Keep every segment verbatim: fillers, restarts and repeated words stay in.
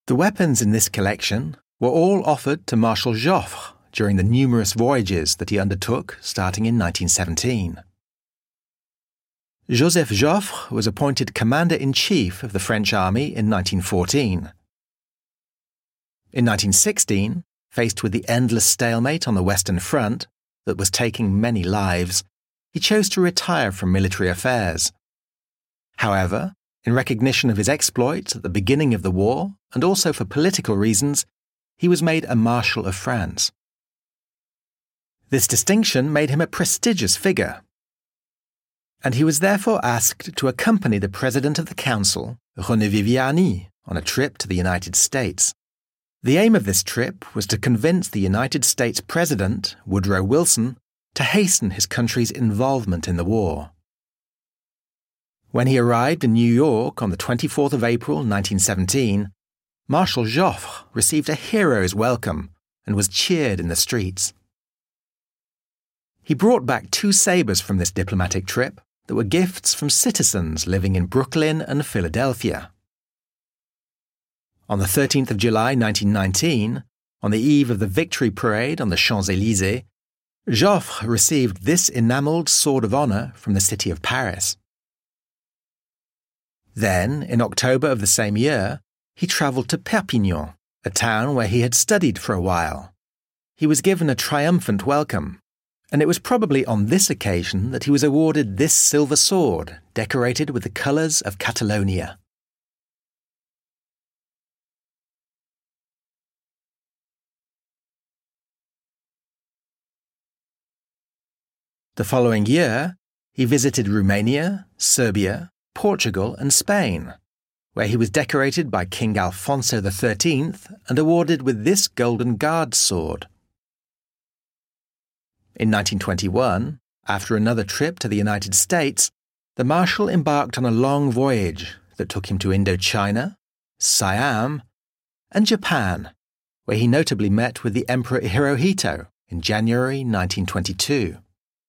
The weapons in this collection were all offered to Marshal Joffre during the numerous voyages that he undertook starting in nineteen seventeen. Joseph Joffre was appointed Commander-in-Chief of the French Army in nineteen fourteen. In nineteen sixteen, faced with the endless stalemate on the Western Front that was taking many lives, he chose to retire from military affairs. However, in recognition of his exploits at the beginning of the war, and also for political reasons, he was made a Marshal of France. This distinction made him a prestigious figure, and he was therefore asked to accompany the President of the Council, René Viviani, on a trip to the United States. The aim of this trip was to convince the United States President, Woodrow Wilson, to hasten his country's involvement in the war. When he arrived in New York on the twenty-fourth of April nineteen seventeen, Marshal Joffre received a hero's welcome and was cheered in the streets. He brought back two sabres from this diplomatic trip that were gifts from citizens living in Brooklyn and Philadelphia. On the thirteenth of July nineteen nineteen, on the eve of the Victory Parade on the Champs-Élysées, Joffre received this enamelled Sword of Honour from the city of Paris. Then, in October of the same year, he travelled to Perpignan, a town where he had studied for a while. He was given a triumphant welcome, and it was probably on this occasion that he was awarded this silver sword decorated with the colours of Catalonia. The following year, he visited Romania, Serbia, Portugal and Spain, where he was decorated by King Alfonso the Thirteenth and awarded with this Golden Guard sword. In nineteen twenty-one, after another trip to the United States, the Marshal embarked on a long voyage that took him to Indochina, Siam, and Japan, where he notably met with the Emperor Hirohito in January nineteen twenty-two.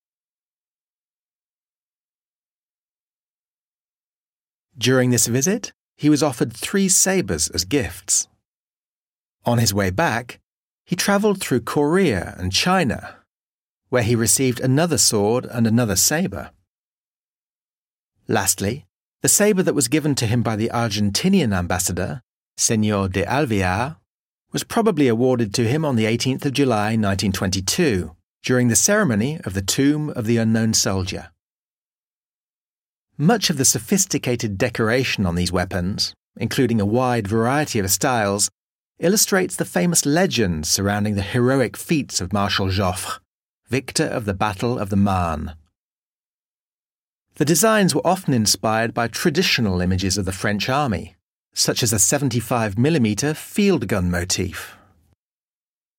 During this visit, he was offered three sabres as gifts. On his way back, he travelled through Korea and China, where he received another sword and another sabre. Lastly, the sabre that was given to him by the Argentinian ambassador, Señor de Alvear, was probably awarded to him on the eighteenth of July nineteen twenty-two, during the ceremony of the Tomb of the Unknown Soldier. Much of the sophisticated decoration on these weapons, including a wide variety of styles, illustrates the famous legend surrounding the heroic feats of Marshal Joffre, victor of the Battle of the Marne. The designs were often inspired by traditional images of the French army, such as a seventy-five millimeter field gun motif,